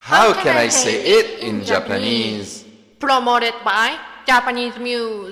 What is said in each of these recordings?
How can I say it in Japanese? Promoted by Japanese Muse.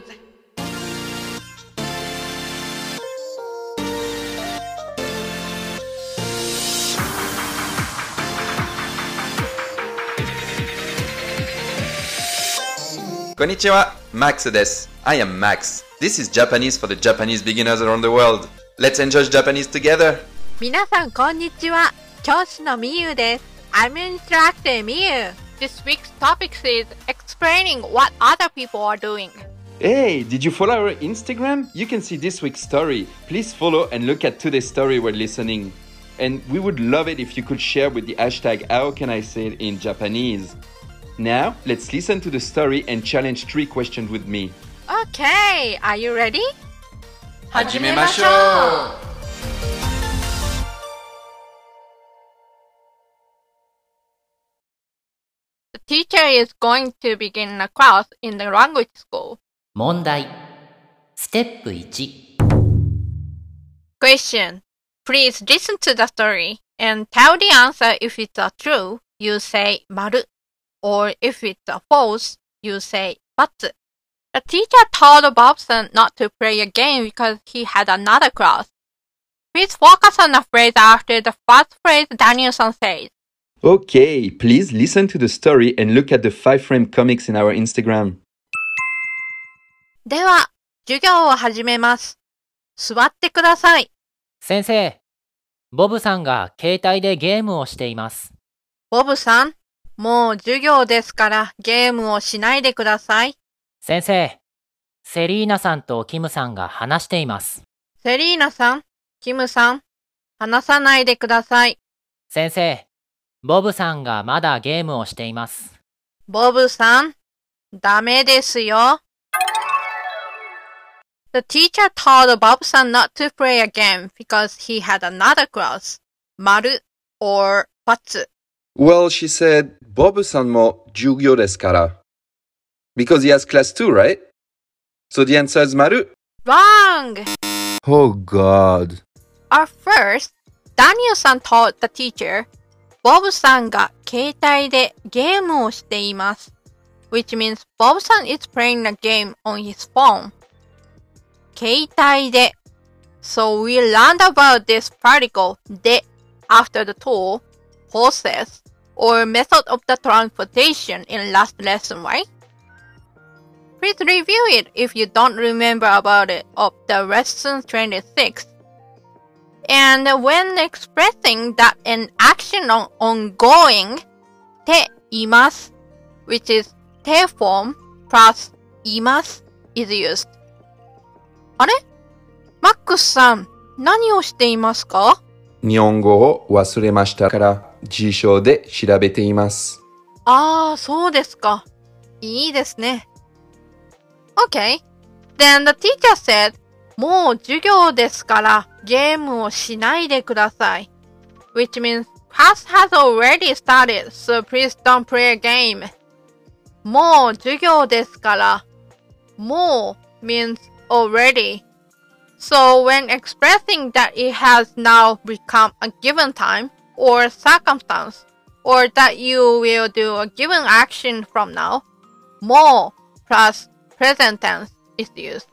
Konnichiwa, Max です。I am Max. This is Japanese for the Japanese beginners around the world. Let's enjoy Japanese together. 皆さんこんにちは。教師のみゆです。I'm Instructor みゆ。 This week's topic is explaining what other people are doing. Hey, did you follow our Instagram? You can see this week's story. Please follow and look at today's story while listening. And we would love it if you could share with the hashtag How Can I Say It in Japanese. Now, let's listen to the story and challenge 3 questions with me. Okay, are you ready? 始めましょう。 The teacher is going to begin a class in the language school. 問題ステップ1 Question. Please listen to the story and tell the answer. If it's a true, you say 丸. Or if it's a false, you say ×. The teacher told Bobson not to play a game because he had another class. Please focus on the phrase after the first phrase Danielson says. Okay, please listen to the story and look at the 5-frame comics in our Instagram. では、授業を始めます。座ってください。 先生、ボブさんが携帯でゲームをしています。 ボブさん、もう授業ですからゲームをしないでください。 先生、セリーナさんとキムさんが話しています。 セリーナさん、キムさん、話さないでください。 先生、ボブさんがまだゲームをしています。 ボブさん、ダメですよ。The teacher told Bobson not to play a game because he had another class. 丸 or ×. Well, she said, Bob-san mo jugyo desu kara. Because he has class too, right? So the answer is maru. Wrong! Oh God. At first, Daniel-san told the teacher, Bob-san が携帯でゲームをしています。Which means Bob-san is playing a game on his phone. 携帯で So we learned about this particle で after the tool, process, or method of the transportation in last lesson, right? Please review it if you don't remember about it of the lesson 26. And when expressing that an action on ongoing, ています which is て form plus います is used. あれ？マックスさん、何をしていますか？ 日本語を忘れましたから辞書で調べています。 ああ、そうですか。いいですね。Okay. Then the teacher said, もう授業ですからゲームをしないでください。Which means class has already started, so please don't play a game. もう授業ですから。もう means already. So when expressing that it has now become a given time or circumstance, or that you will do a given action from now, もう plus present tense is used.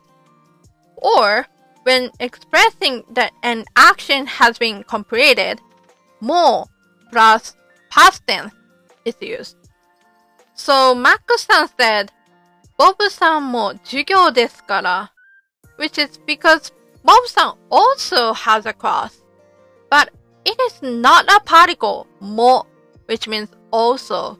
Or when expressing that an action has been completed, もう plus past tense is used. So Max-san said, ボブさんも授業ですから。Which is because Bob-san also has a class. But it is not a particle, も which means also.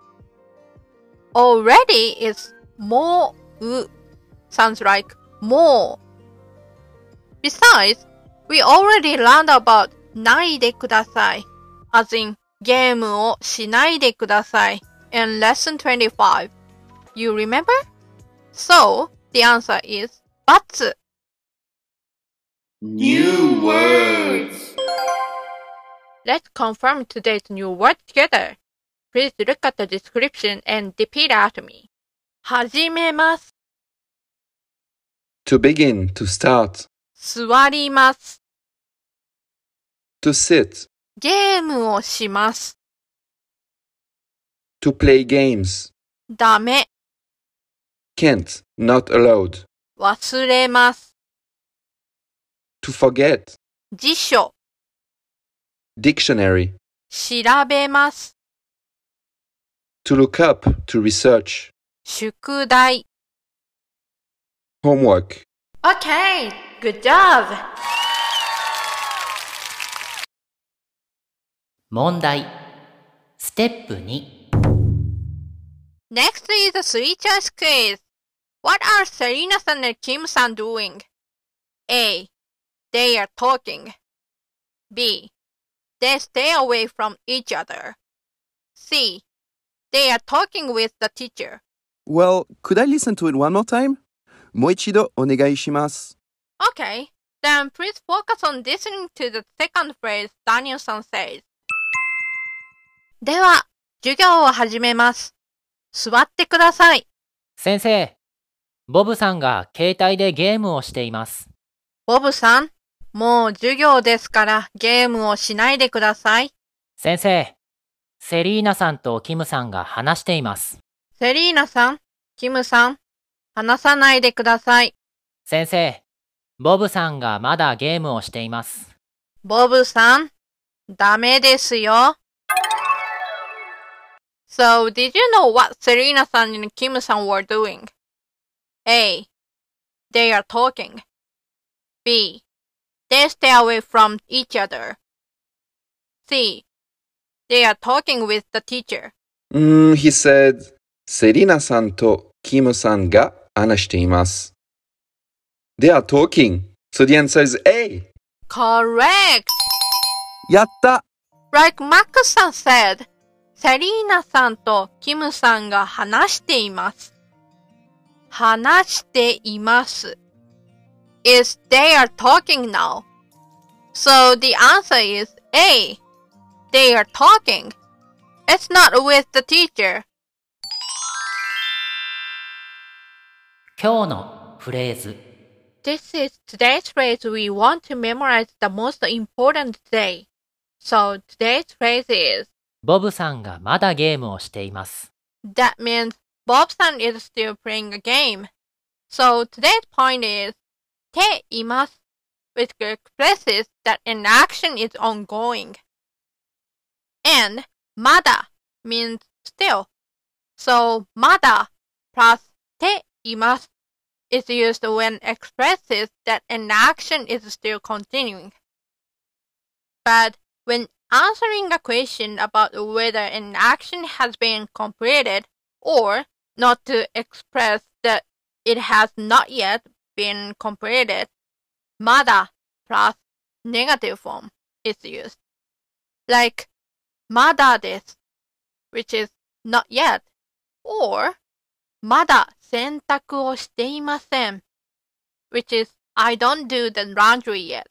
Already is もう sounds like もう. Besides, we already learned about ないでください as in ゲームをしないでください in lesson 25. You remember? So, the answer is ×. New words. Let's confirm today's new word together. Please look at the description and repeat after me. 始めます。 To begin, to start. 座ります。 To sit. ゲームをします。 To play games. ダメ。 Can't, not allowed. 忘れます。 To forget. 辞書。 Dictionary. 調べます。 To look up, to research. 宿題。 Homework. Okay, good job! 問題。ステップ2。 Next is a three-choice quiz. What are Serena-san and Kim-san doing? A. They are talking. B. They stay away from each other. C. They are talking with the teacher. Well, could I listen to it one more time? もう一度お願いします。 Okay, then please focus on listening to the second phrase Daniel-san says. では、授業を始めます。座ってください。 先生、ボブさんが携帯でゲームをしています。 ボブさん、もう授業ですからゲームをしないでください。 先生、セリーナさんとキムさんが話しています。 セリーナさん、キムさん、話さないでください。 先生、ボブさんがまだゲームをしています。 ボブさん、ダメですよ。So, did you know what Serena-san and Kim-san were doing? A. They are talking. B. They stay away from each other. C. They are talking with the teacher. He said, セリナさんとキムさんが話しています。They are talking. So the answer is A. Correct! やった Like Max-san said, セリーナさんとキムさんが話しています。話しています。is they are talking now. So the answer is A. They are talking. It's not with the teacher. 今日のフレーズ。 This is today's phrase we want to memorize the most important day. So today's phrase is ボブさんがまだゲームをしています。 That means Bob-san is still playing a game. So today's point is ています which expresses that an action is ongoing. And まだ means still. So まだ plus ています is used when expresses that an action is still continuing. But when answering a question about whether an action has been completed or not to express that it has not yet been completed, まだ plus negative form is used. Like まだです which is not yet, or まだ洗濯をしていません which is I don't do the laundry yet.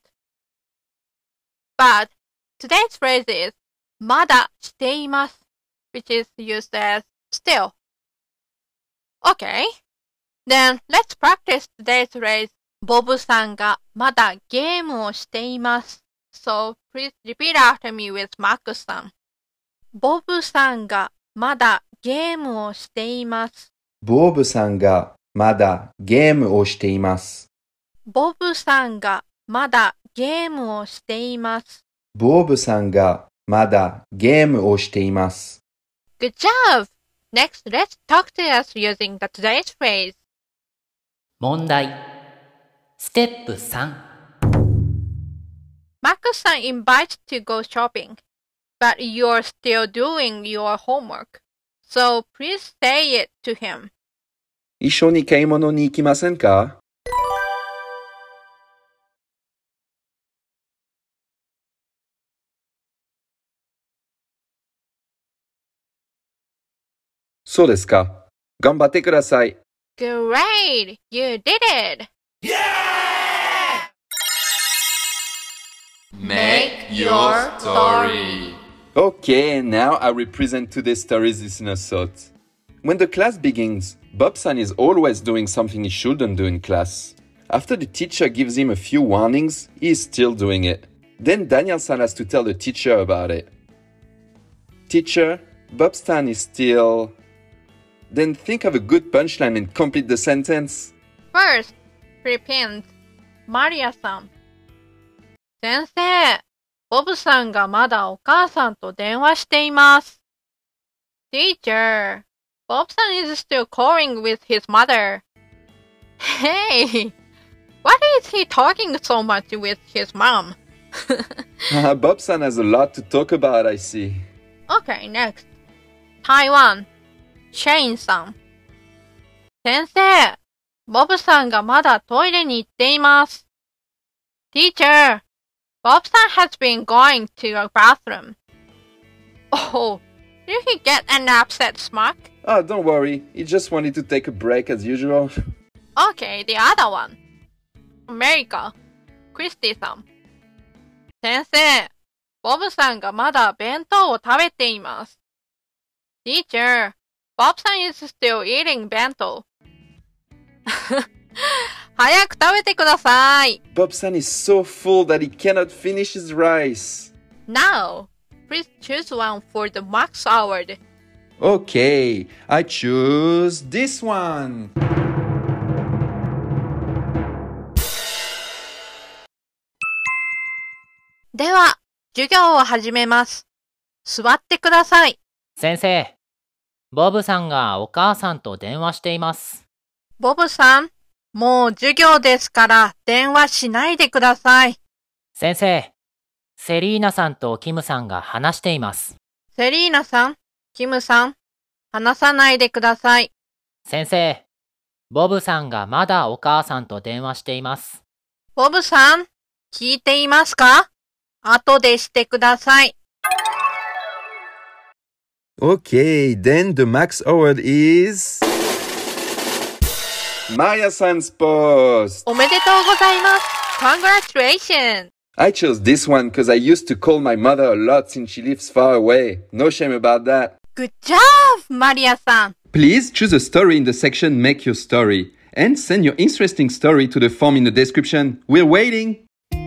But today's phrase is まだしています which is used as still. Okay, then let's practice today's phrase ボブさんがまだゲームをしています So please repeat after me with Marcus さん。ボブさんがまだゲームをしています。 ボブさんがまだゲームをしています。 ボブさんがまだゲームをしています。 ボブさんがまだゲームをしています。 Good job! Next, let's talk to us using the today's phrase. 問題。ステップ3。 Marcus-san invites to go shopping, but you're still doing your homework. So please say it to him. 一緒に買い物に行きませんか？そうですか。頑張ってください。 Great! You did it! Make your story. Okay, now I represent today's story's listener thought. When the class begins, Bob-san is always doing something he shouldn't do in class. After the teacher gives him a few warnings, he is still doing it. Then Daniel-san has to tell the teacher about it. Teacher, Bobstan is still... Then think of a good punchline and complete the sentence. First, repeat. マリアさん。先生、ボブさんがまだお母さんと電話しています。Teacher, Bobson is still calling with his mother. Hey, what is he talking so much with his mom? Bobsan has a lot to talk about, I see. Okay, next. Taiwan, Shane さん。先生、ボブさんがまだトイレに行っています。Teacher, Bobson has been going to a bathroom. Oh, did he get an upset stomach? Oh, don't worry. He just wanted to take a break as usual. Okay, the other one. America, Christy さん。先生、ボブさんがまだ弁当を食べています。Teacher, Bobson is still eating 弁当。早く食べてください。 Bobsan is so full that he cannot finish his rice. Now, please choose one for the Max Award. Okay, I choose this one. では、授業を始めます。座ってください。 先生、ボブさんがお母さんと電話しています。 ボブさん、もう授業ですから電話しないでください。 先生、セリーナさんとキムさんが話しています。 セリーナさん、キムさん、話さないでください。 先生、ボブさんがまだお母さんと電話しています。 ボブさん、聞いていますか？後でしてください。 Okay, then the Max Award is... Maya-san's post! おめでとうございます。Congratulations! I chose this one because I used to call my mother a lot since she lives far away. No shame about that. Good job, マリアさん。 Please choose a story in the section Make Your Story and send your interesting story to the form in the description. We're waiting!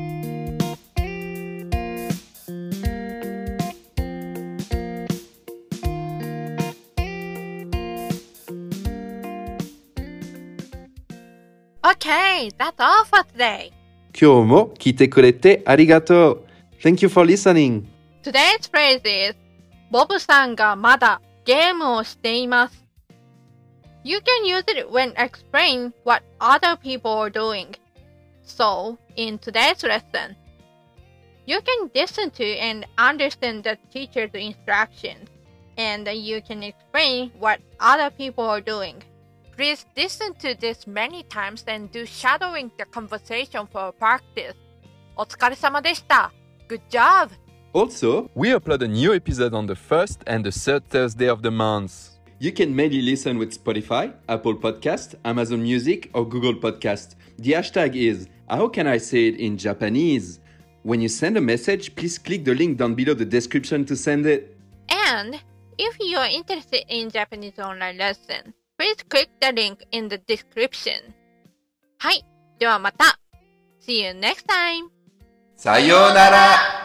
Okay, that's all for today. 今日も聞いてくれてありがとう. Thank you for listening. Today's phrase is ボブさんがまだゲームをしています。You can use it when explaining what other people are doing. So, in today's lesson, you can listen to and understand the teacher's instructions, and you can explain what other people are doing. Please listen to this many times and do shadowing the conversation for practice. お疲れ様でした。Good job! Also, we upload a new episode on the first and the third Thursday of the month. You can mainly listen with Spotify, Apple Podcast, Amazon Music, or Google Podcast. The hashtag is How can I say it in Japanese? When you send a message, please click the link down below the description to send it. And if you are interested in Japanese online lesson, please click the link in the description. はい、ではまた。See you next time! さようなら